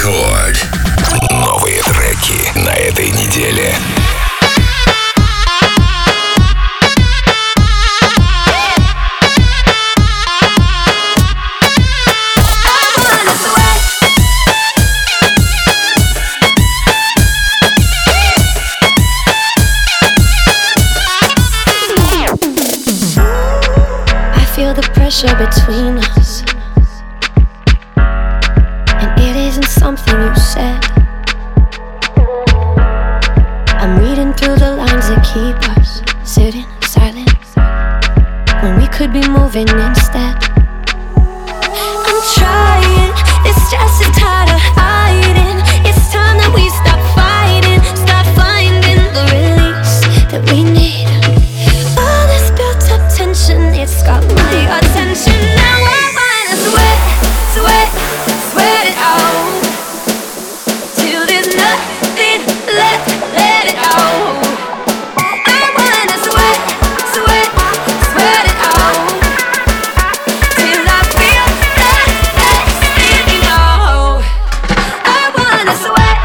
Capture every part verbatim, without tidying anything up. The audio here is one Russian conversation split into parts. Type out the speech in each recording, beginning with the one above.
Рекорд. Новые треки на этой неделе. Pressure between us, and it isn't something you said. I'm reading through the lines that keep us sitting silent when we could be moving instead. I'm trying, this stress is tired of hiding. It's time that we stop fighting, stop finding the release that we need. All this built up tension, it's got my attention. Now I wanna sweat, sweat, sweat it out till there's nothing left, let it out. I wanna sweat, sweat, sweat it out till I feel that destiny now. I wanna sweat.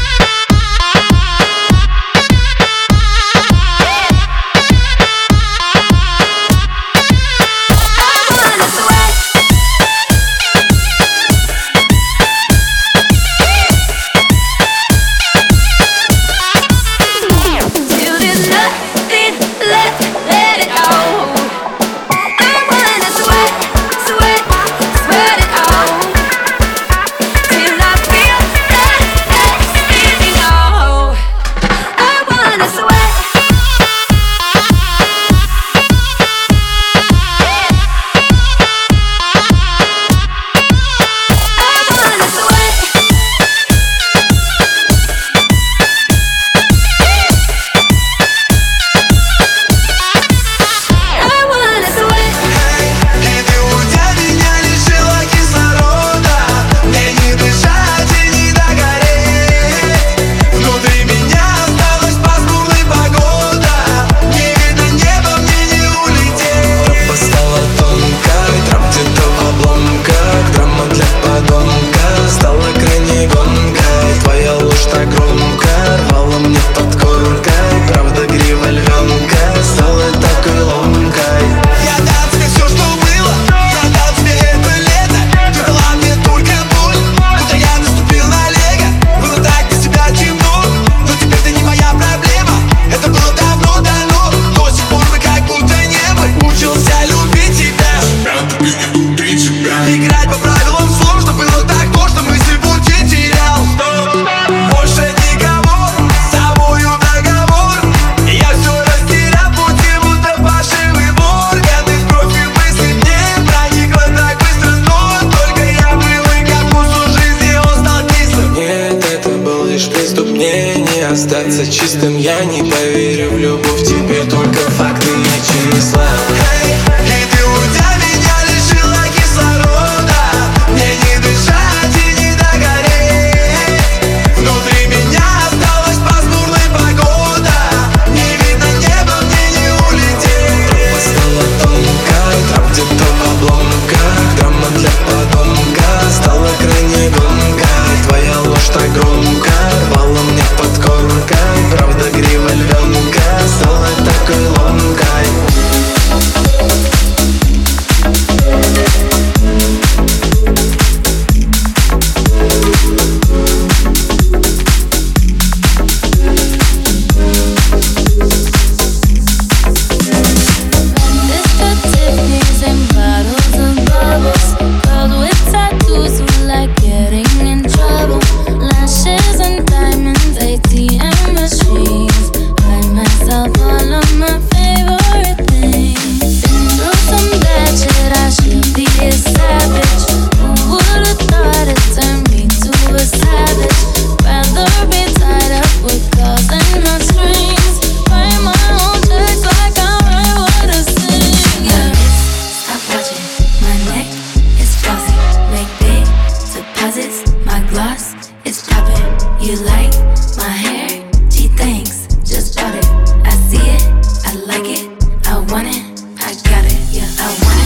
Остаться чистым я не поверю в любовь. Теперь только факты и числа. Hey, и ты уйдя меня лишила кислорода. Мне не дышать и не догореть. Внутри меня осталась пасмурная погода. Не видно неба, мне не улететь. Тропа стала тонкой, трап где-то в обломках. Драма для подонка стала крайне громкой. Твоя ложь так громко рвала мне под коркой. Правда грива львенка стала такой ломкой.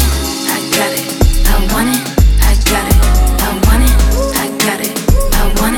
I want it, I got it, I want it, I got it, I want it.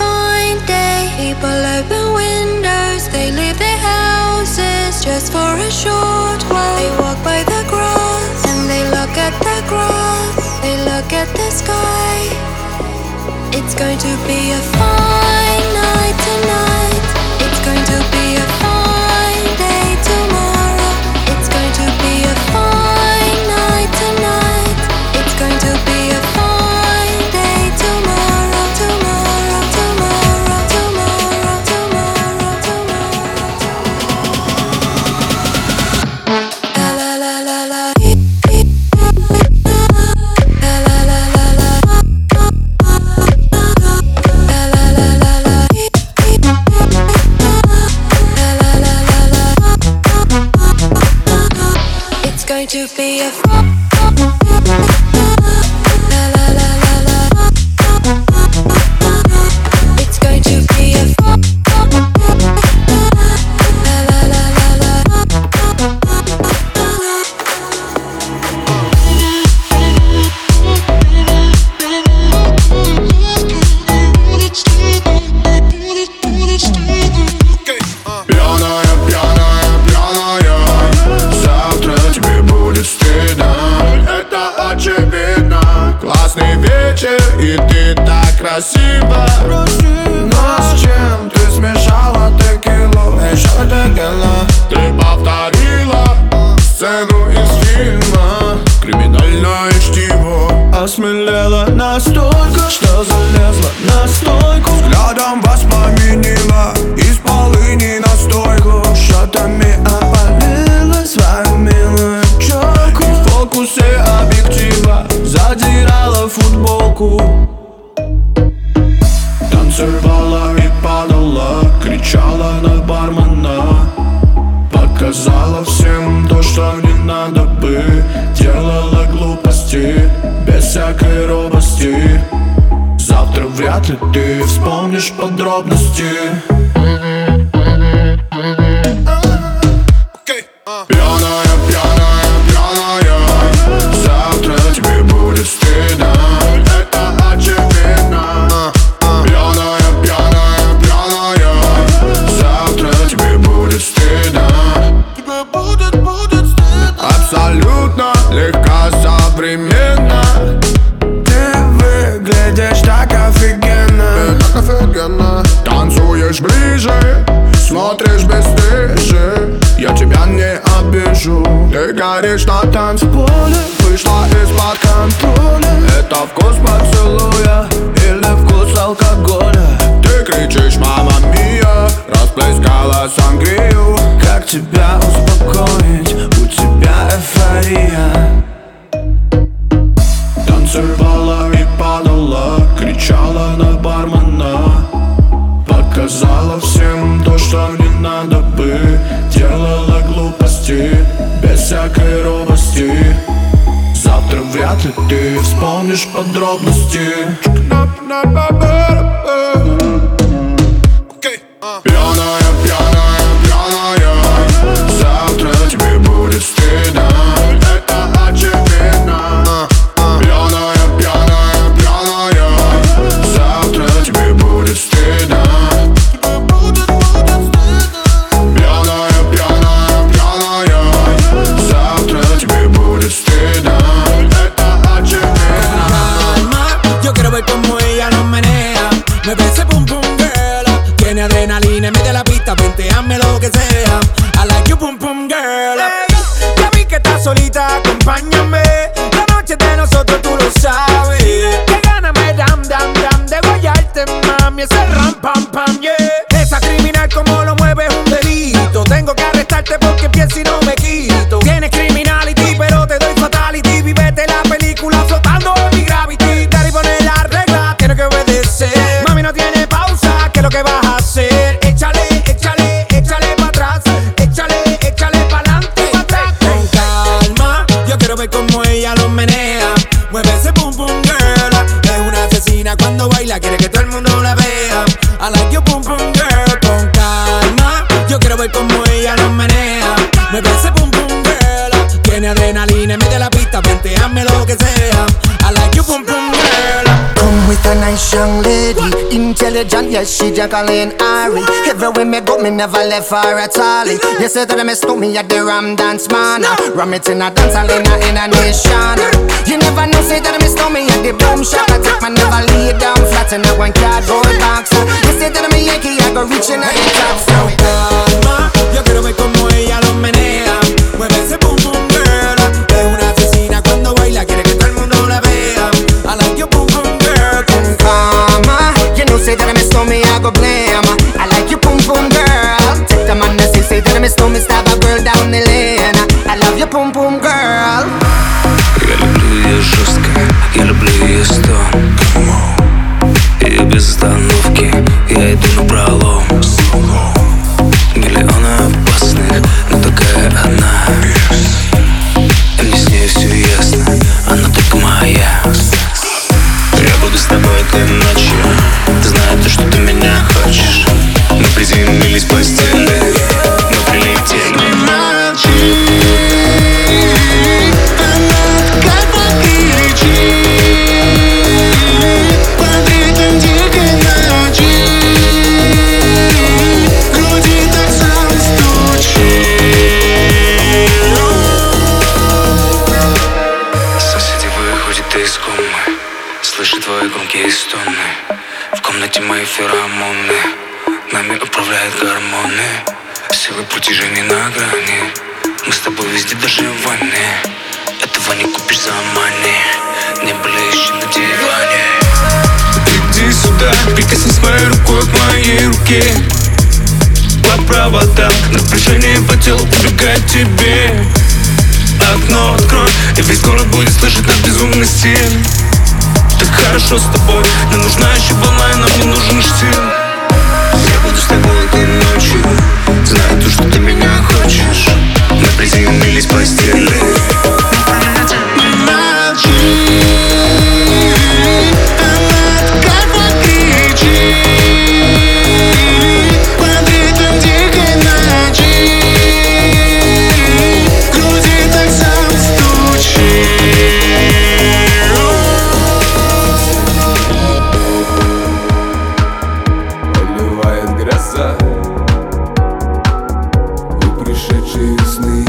fine day. People open windows, they leave their houses just for a short while. They walk by the grass and they look at the grass. They look at the sky. It's going to be a fine night tonight. It's going to be a fine day tomorrow. It's going to be a fine night tonight. It's going to be a fine day tomorrow. Tomorrow, tomorrow, tomorrow, tomorrow, tomorrow. La la la la la. La la la la la. La la la la la. La la la la la. It's going to be a fun. La la la la la. It's going to be a fun. La la la la la. Пьяная, пьяная, пьяная. Завтра тебе будет стыдно. Это очевидно. Классный вечер, и ты так красива. Но с чем ты смешала текилу? Еще текила. Ты повторила сцену из фильма. Криминальное чтиво. Осмелела настолько, что залезла на стойку. Взглядом воспламенила из полыни настойку. Шотами опалила свою милую челку. И в фокусе объектива задирала футболку. Танцевала и падала, кричала на бармена. Показала всем то, что не надо бы. Делала глупости без всякой робости. Завтра вряд ли ты вспомнишь подробности. Пьяная, пьяная, пьяная. Завтра тебе будет стыдно. Это очевидно. Пьяная, пьяная, пьяная. Завтра тебе будет стыдно. Тебе будет, будет стыдно. Абсолютно легкосовременно. Ты выглядишь так офигенно. Так офигенно. Танцуешь ближе, смотришь бесстыже. Я тебя не обижу. Ты горишь на танцполе. Вышла из-под контроля. Это вкус поцелуя или вкус алкоголя? Ты кричишь «Мама мия», расплескала сангрию. Как тебя успокоить? У тебя эйфория. Танцевала и падала, кричала на бармена. Показала всем то, что не надо бы. Делала глупости без всякой робости. Завтра вряд ли ты вспомнишь подробности. Пьяная, пьяная, пьяная. Завтра тебе будет стыдно. Это очевидно. Пьяная, пьяная, пьяная. Завтра тебе будет стыдно. Пьяная, пьяная, pьяная. Завтра тебе будет стыдно. Это очевидно. Yo quiero ver como ella lo menea. Me parece pum pum girl. Tiene adrenalina, mete la pista, venteame lo que sea. I like you pum pum girl. Hey, ya vi que estás solita, acompáñame. La noche de nosotros tú lo sabes. Que gana me dam dam dam de guayarte, mami. Ese ram pam pam yeah. Esa criminal como lo mueve es un delito. Tengo que arrestarte porque pienso y no me quito. Tienes criminality pero te doy fatality. Vivete la película flotando en mi gravity. Daddy pone la regla, tiene que obedecer. Mami no tiene pausa, ¿qué es lo que vas a hacer? Échale, échale, échale pa' atrás. Échale, échale pa'lante y pa' atrás. Con calma, yo quiero ver cómo ella lo menea. Mueve ese pum pum girl. Es una asesina cuando baila, quiere que todo el mundo la vea. I like you pum pum girl. Con calma, yo quiero ver cómo ella lo menea. Mueve ese pum pum girl. Tiene adrenalina, mete la pista, venteame lo que sea. I like you pum pum girl. Come with a nice Nice young lady, intelligent, yes, she Jacqueline Ari. Everywhere me go, me never left her at all. You say that me stole me at the Ram Dance Man. Ram it in a dance hall in a, in a nation. You never know, say that me stole me at the Boom Shop. I take my never lay down flat in a one cardboard box. You say that me Yankee, I go reaching at the top. So calma, yo quiero ver como ella lo menea. Mueve ese boom boom girl. Es una asesina cuando baila, quiere que todo el mundo la vea. I like your boom boom girl. Con calma, you know say that me stole me, I go blame. I like you boom boom girl. Take the man that say, say that me stole me, stab a girl down the lane. I love you boom boom girl. Я люблю ее жестко, я люблю ее стон. Ее без остановки, я иду на пролом. Миллионы опасных, но такая она. И мне с ней все ясно, она только моя. Я буду с тобой этой ночью, знаю то, что ты меня хочешь. Мы приземлились в постели, мы прилетели. Молчи, она как покричит. Под ритм дикой ночи груди так сам стучит. Соседи выходят из комы, слышат твои громкие стоны. В комнате мои феромоны, нами управляют гормоны. Силы притяжения на грани, мы с тобой везде, даже в ванне. Этого не купишь за мани, не блещи на диване. Иди сюда, прикоснись моей рукой к моей руке. По проводам, напряжение по телу убегает тебе. Окно открой, и весь город будет слышать наш безумный стиль. Так хорошо с тобой, не нужна еще волна, и нам не нужен штиль. Я буду с тобой этой ночью, знаю то, что ты меня хочешь. Мы приземлились в постели. Молчи, она как покричит. Под ритм дикой ночи груди так сам стучит. Поливает гроза, вы пришедшие сны,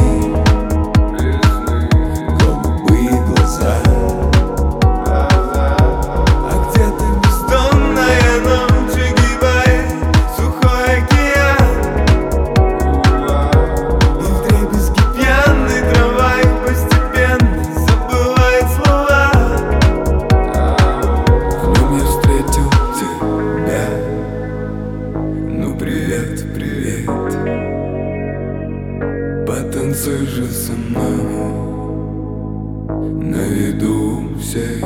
голубые глаза. А где-то бездонная ночь огибает сухой океан. И вдребезги пьяный трамвай постепенно забывает слова. В нем я встретил тебя. Ну привет, привет. Потанцуй же со мной на виду всех.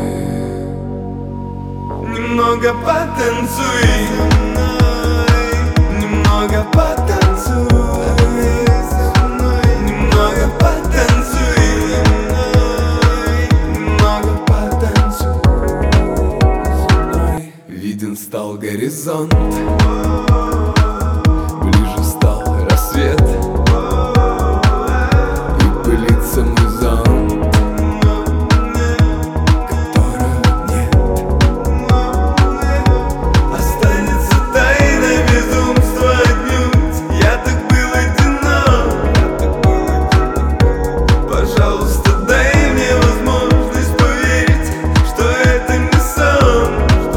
Немного потанцуй со мной, немного потанцуй со мной, немного потанцуй со мной, немного потанцуй со мной. Виден стал горизонт, ближе стал рассвет, и пылится мой зонт, которого нет. Останется тайна безумства отнюдь. Я так был одинок. Пожалуйста, дай мне возможность поверить, что это не сон.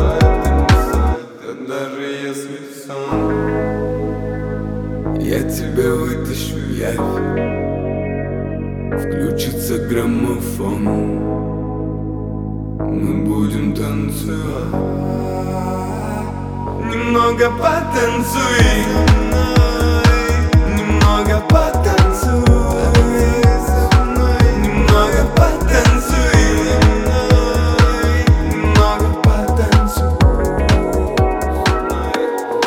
Да даже если сон, я тебя вытащу в явь. Включится граммофон, мы будем танцевать. Немного потанцуй со мной, немного потанцуй со мной, немного потанцуй со мной, немного потанцуй со мной.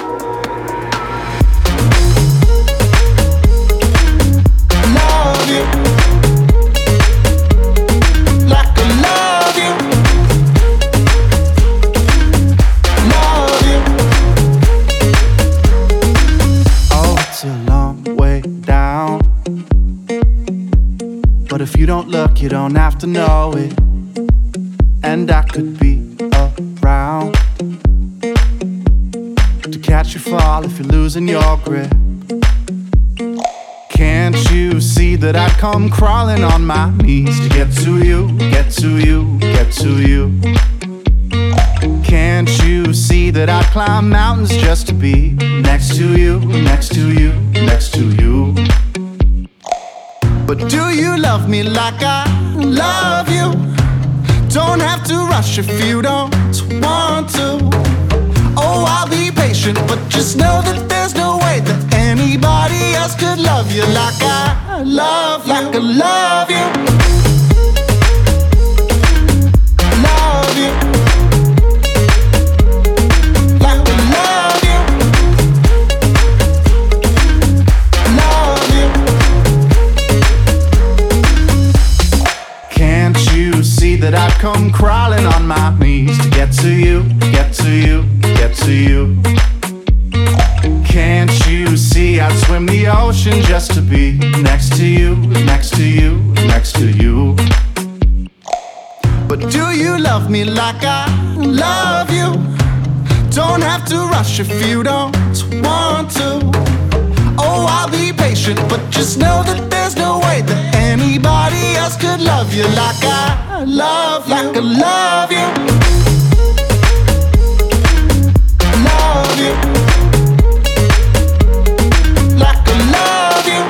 Love you like I love you. Love you. Oh, it's a long way down. But if you don't look, you don't have to know it. And I could be around catch you fall if you're losing your grip. Can't you see that I'd come crawling on my knees to get to you, get to you, get to you? Can't you see that I'd climb mountains just to be next to you, next to you, next to you? But do you love me like I love you? Don't have to rush if you don't want to. Oh, I'll be patient, but just know that there's no way that anybody else could love you like I love you, like I love you. Love you. Like I love you. Love you. Can't you see that I've come crawling on my knees to get to you, get to you, get to you? Can't you see I'd swim the ocean just to be next to you, next to you, next to you? But do you love me like I love you? Don't have to rush if you don't want to. Oh, I'll be patient, but just know that there's no way that anybody else could love you like I love you, like I love you. Love you. Like I love you.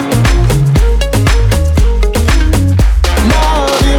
Love you.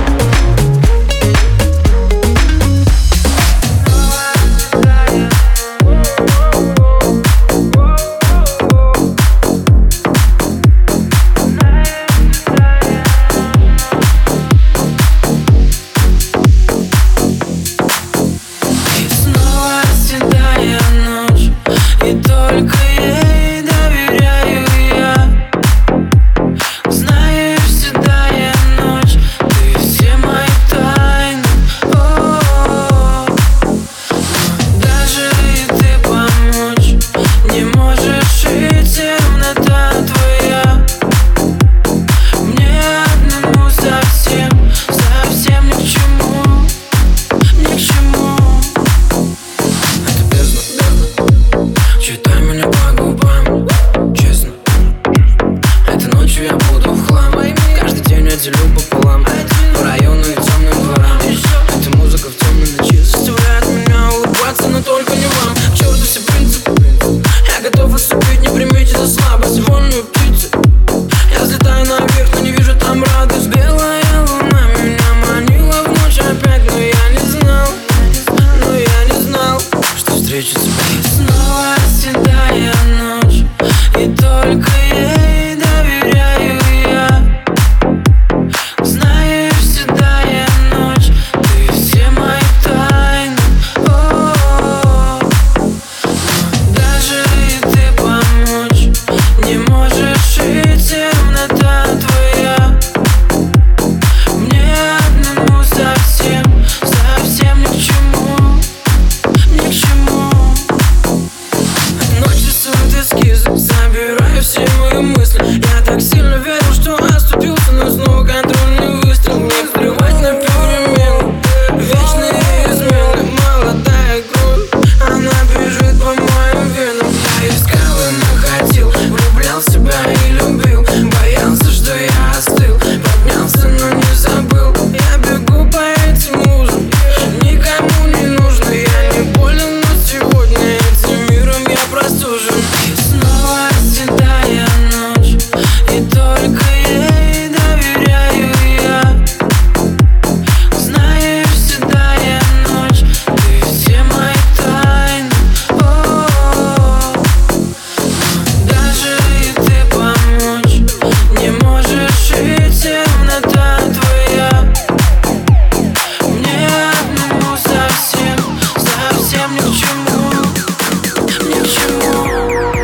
Ни к чему, ни к чему.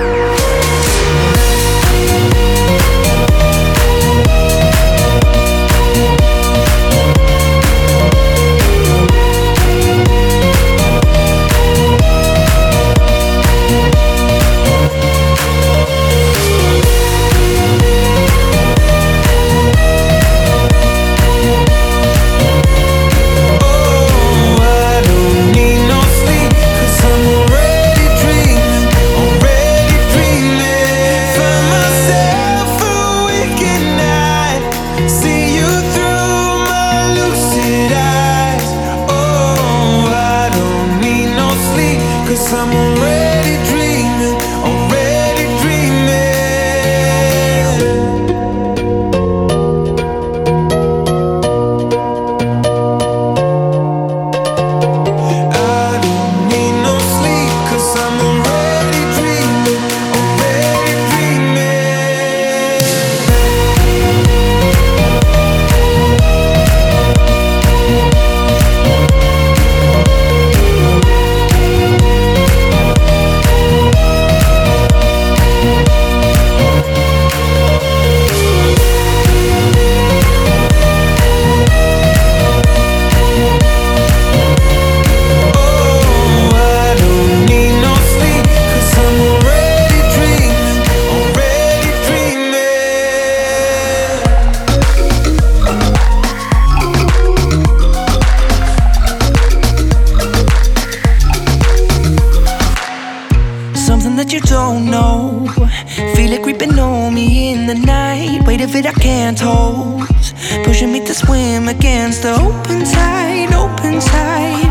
something that you don't know. Feel it creeping on me in the night. Weight of it I can't hold, pushing me to swim against the open tide, open tide.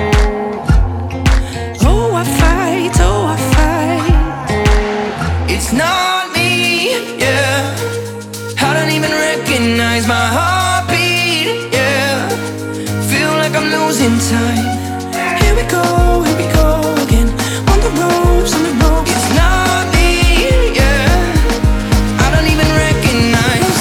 Oh, I fight, oh, I fight. It's not me, yeah. I don't even recognize my heartbeat, yeah. Feel like I'm losing time. Here we go, here we go again. On the ropes, on the ropes. It's not me, yeah. I don't even recognize.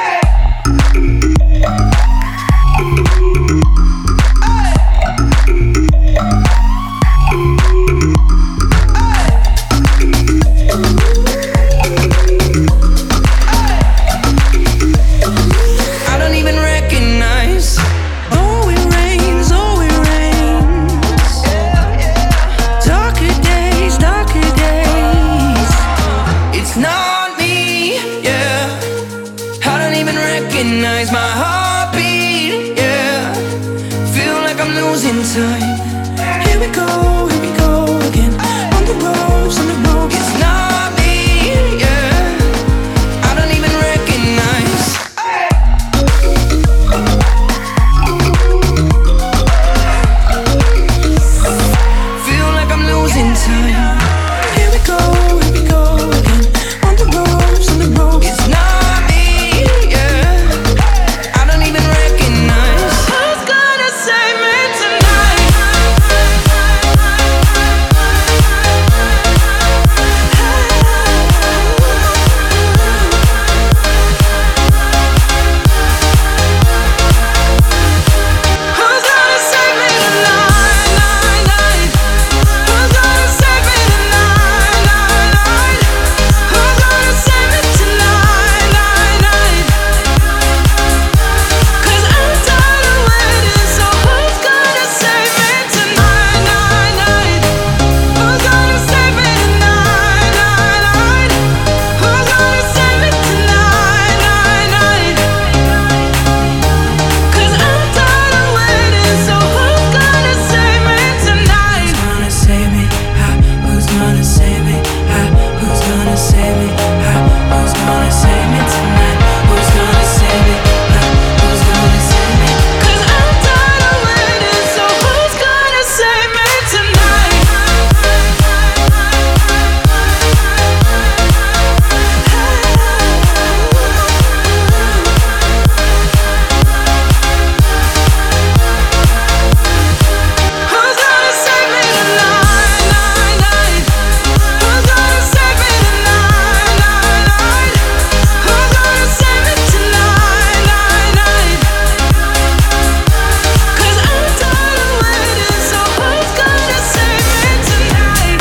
I don't even recognize. Oh, it rains, oh, it rains. Darker days, darker days. It's not me, yeah. I don't even recognize my heartbeat, yeah. Feel like I'm losing time. Here we go, here we go again. On the ropes, on the ropes. It's not me, yeah. I don't even recognize. Feel like I'm losing time. Here we go, here we go again. On the ropes, on the ropes. It's not me, yeah. I don't even recognize. Who's gonna save me tonight? Who's gonna save me tonight, night, night? Who's gonna save me tonight, night, night? Who's gonna save me tonight, night, night? 'Cause I'm tired of waiting, so who's gonna save me tonight, night, night? Who's gonna save me tonight, night, night? Who's gonna save me tonight, night, night? 'Cause I'm tired of waiting, so who's gonna save me tonight? Who's gonna save me? Huh? Who's gonna save me? Huh? Who's gonna save me? Huh? Who's gonna save me tonight? Who's gonna save me? Huh? Who's gonna save me? 'Cause I'm tired of waiting, so who's gonna save me tonight? Who's gonna save me tonight, night, night? Who's gonna save me tonight, night, night? Who's gonna save me tonight, night, night? 'Cause I'm tired of waiting, so who's gonna save me tonight?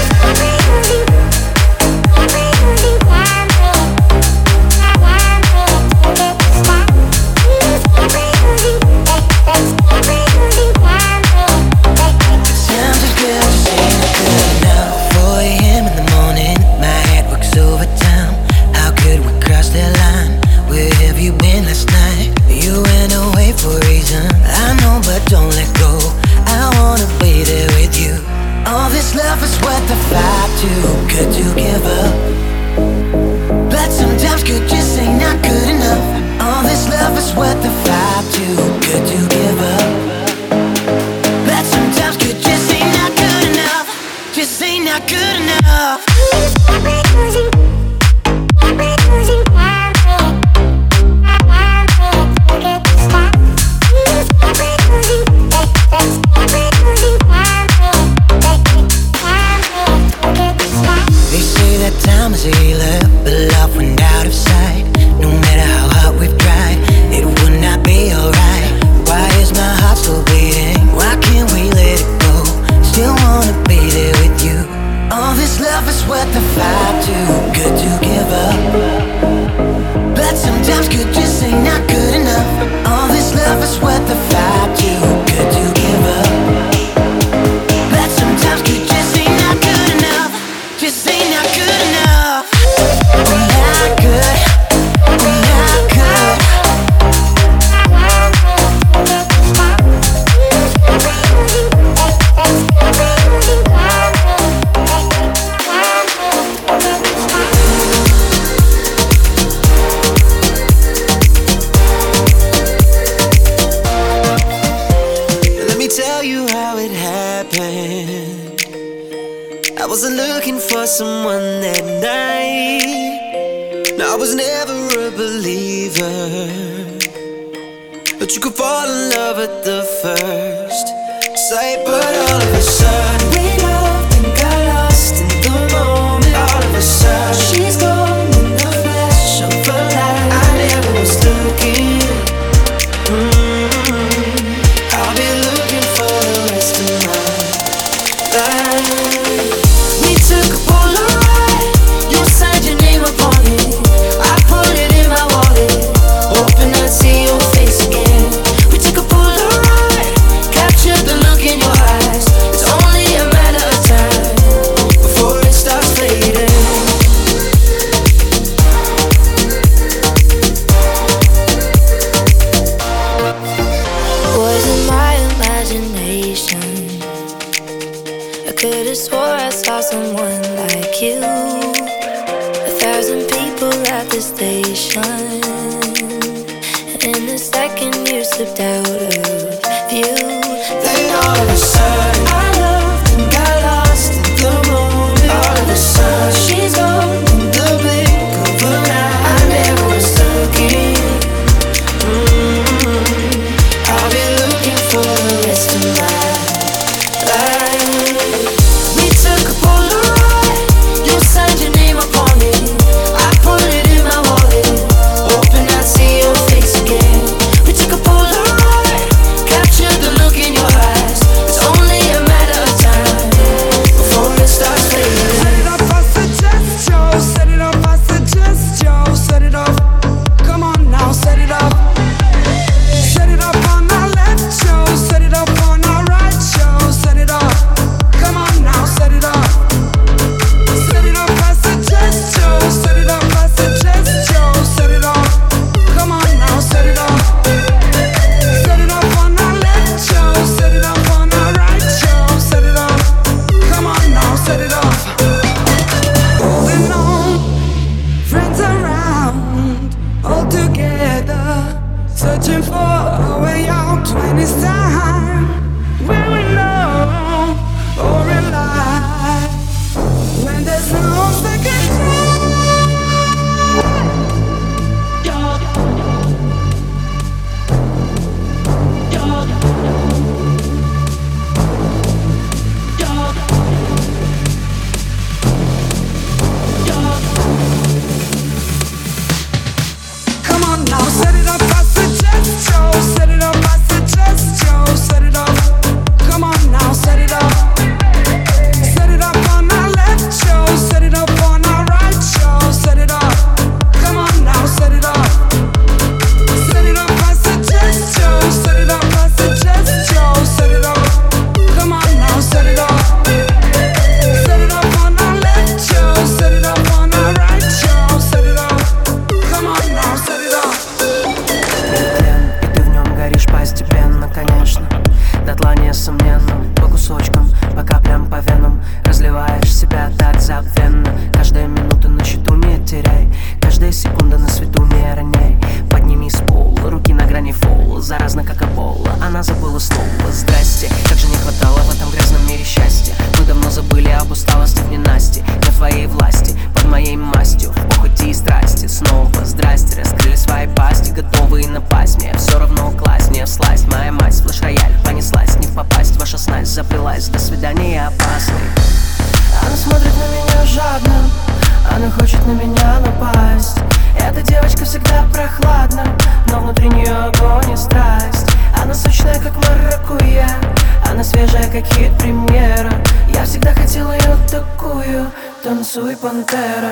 Sounds as good as ain't it good enough. four a.m. in the morning, my head works overtime. How could we cross that line? Where have you been last night? You went away for a reason, I know, but don't let go. I wanna be there with you. All this love is worth the fight, too good to give up. But sometimes good just ain't not good enough. All this love is worth the fight, too good to give up. But sometimes good just ain't not good enough. Just ain't not good enough. They say that time is a healer, but love went out of sight. No matter how hard we've tried, it would not be alright. Why is my heart still beating? Why can't we let it go? Still wanna be there with you. All this love is worth the fight, too good to give up. But sometimes good just ain't not good enough. All this love is worth the fight, too good to give up. But sometimes good just ain't not good enough. Just ain't not good enough. Not good, not good. for someone that night. I was never a believer, but you could fall in love at the first sight. But all of a sudden we loved and got lost in the moment. All of a sudden she's gone in the flash of a light. I never was looking. mm-hmm. I'll be looking for the rest of my life. We took a Polaroid, you signed your name upon it. I put it in my wallet, hoping I'd see your face again. We took a Polaroid, captured the look in your eyes. It's only a matter of time before it starts fading. Was it my imagination? I could've swore I saw someone like you. A thousand people at the station, and in a second you slipped out of view. Then all of a sudden I loved and got lost in the moment. All of a sudden she's gone in the blink of an eye. I never was looking. mm-hmm. I'll be looking for the rest of my life. We took a Polaroid, you signed your name upon it. I put it in my wallet, hoping I'd see your face again. We took a Polaroid, captured the look in your eyes. It's only a matter of time before it starts fading. Set it up, I suggest you. Set it up, I suggest you. Set it up. Come on now, set it up. Set it up on our left show. Set it up on our right show. Set it up. Come on now, set it up. Set it up, I suggest you. Set it up, I suggest you. Set it up. Come on now, set it up. Set it up on our left show. Set it up on our right show. Set it up. Come on now, set it up. Holding on, friends around, all together, searching for a way out when it's time. Will we know or rely when there's no second chance? Come on now, set it up, I suggest you. Set it up, I suggest you. Set it up. Come on now, set it up. Set it up on our left show. Set it up on our right show. Set it up. Come on now, set it up. Set it up, I suggest you. Set it up, I suggest you. Set it up. Come on now, set it up. Set it up on our left show. Set it up on our right show. Set it up. Come on now, set it up. Тлен, и ты в нем горишь постепенно, конечно. Дотла несомненно, по кусочкам, по каплям, по венам. Разливаешь себя так забвенно. Каждая минута на счету не теряй, каждая секунда на свету не роняй. Подними с пола, руки на грани фола. Заразно как эбола, она забыла снова. Здрасте, как же не хватало в этом грязном мире счастья. Мы давно забыли об усталости в ненастье. На твоей власти, под моей мастью, в похоти и страсти. Снова здрасте, раскрыли свои пасти, готовые напасть. Мне все равно класть, не всласть. Моя мать, флеш-рояль, понеслась, не попасть. Ваша снасть заплелась, до свидания опасный. Она смотрит на меня жадно, она хочет на меня напасть. Эта девочка всегда прохладна, но внутри нее огонь и страсть. Она сочная, как маракуйя, она свежая, как хит-премьера. Я всегда хотела ее такую, танцуй, пантера.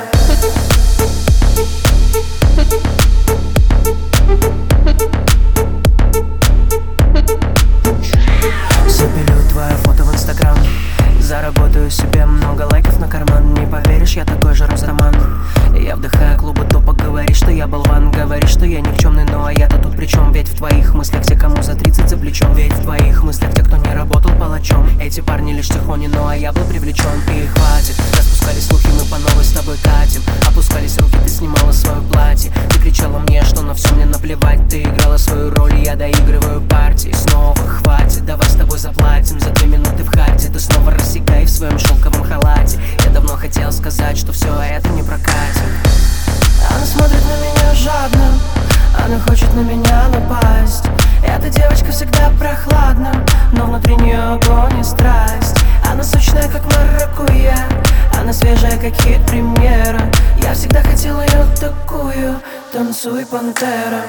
Запилю твое фото в инстаграм, заработаю себе много лайков на карман. Не поверишь, я такой же Росроман. Я вдыхаю клубы топа, говоришь, что я болван. Говоришь, что я никчемный, ну а я-то тут при чем? Ведь в твоих мыслях те, кому за тридцать за плечом. Ведь в твоих мыслях те, кто не работал палачом. Эти парни лишь тихони, ну а я был привлечен. И хватит, распускали слухи, мы по новой с тобой катим. Опускались руки, ты снимала свое платье. Ты кричала мне, что на все мне наплевать. Ты играла свою роль, и я доигрываю партии. Снова хватит, давай с тобой заплатим. За две минуты в хате ты снова рассекай в своем шелковом халате. Я давно хотел сказать сказать, что все это не прокатит. Она смотрит на меня жадно, она хочет на меня напасть. Эта девочка всегда прохладна, но внутри нее огонь и страсть. Она сочная, как маракуйя, она свежая, как хит-премьера. Я всегда хотела ее такую, танцуй, пантера.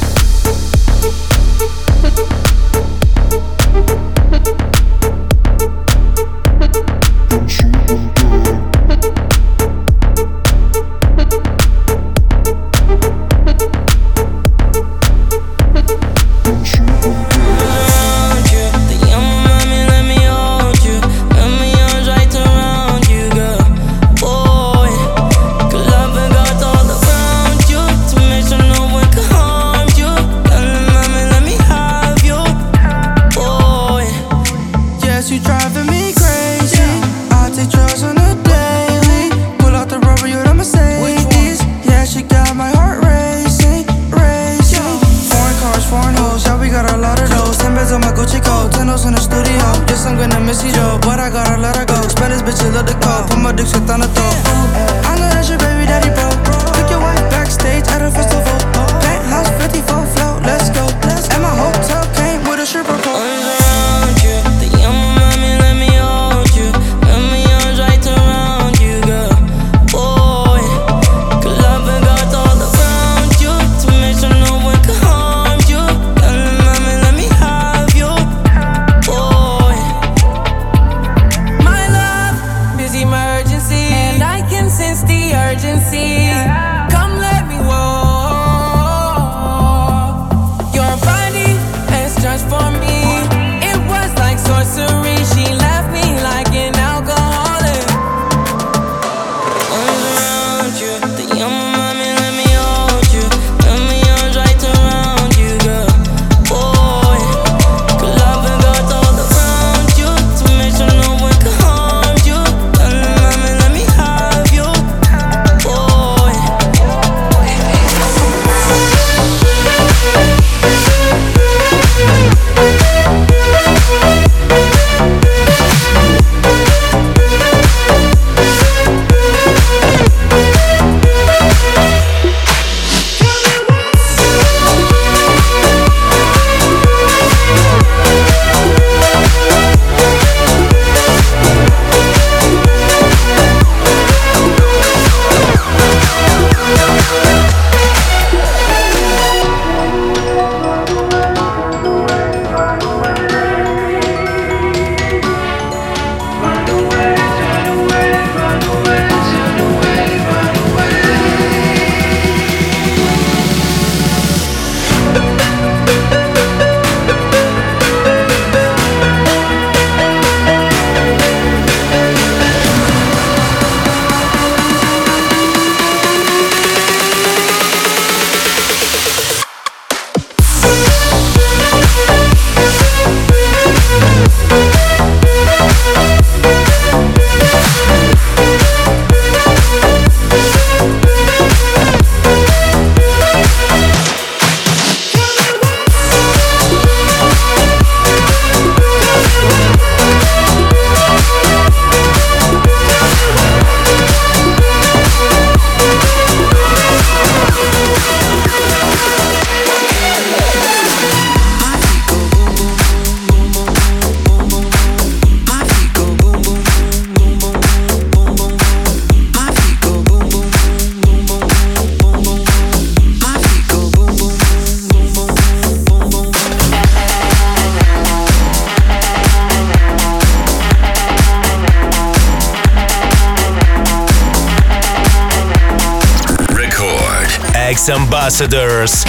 Ambassadors,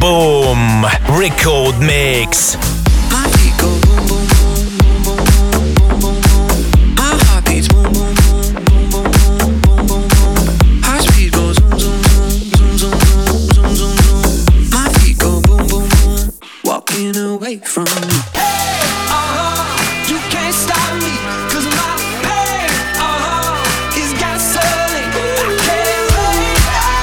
Boom, Record Mix.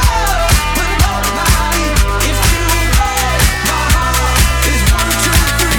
Three.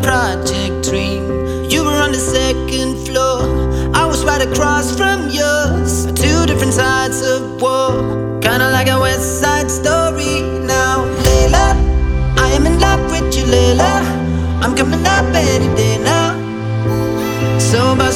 project dream. You were on the second floor, I was right across from yours. Two different sides of war, kinda like a West Side Story. Now, Layla, I am in love with you, Layla. I'm coming up any day now. So, but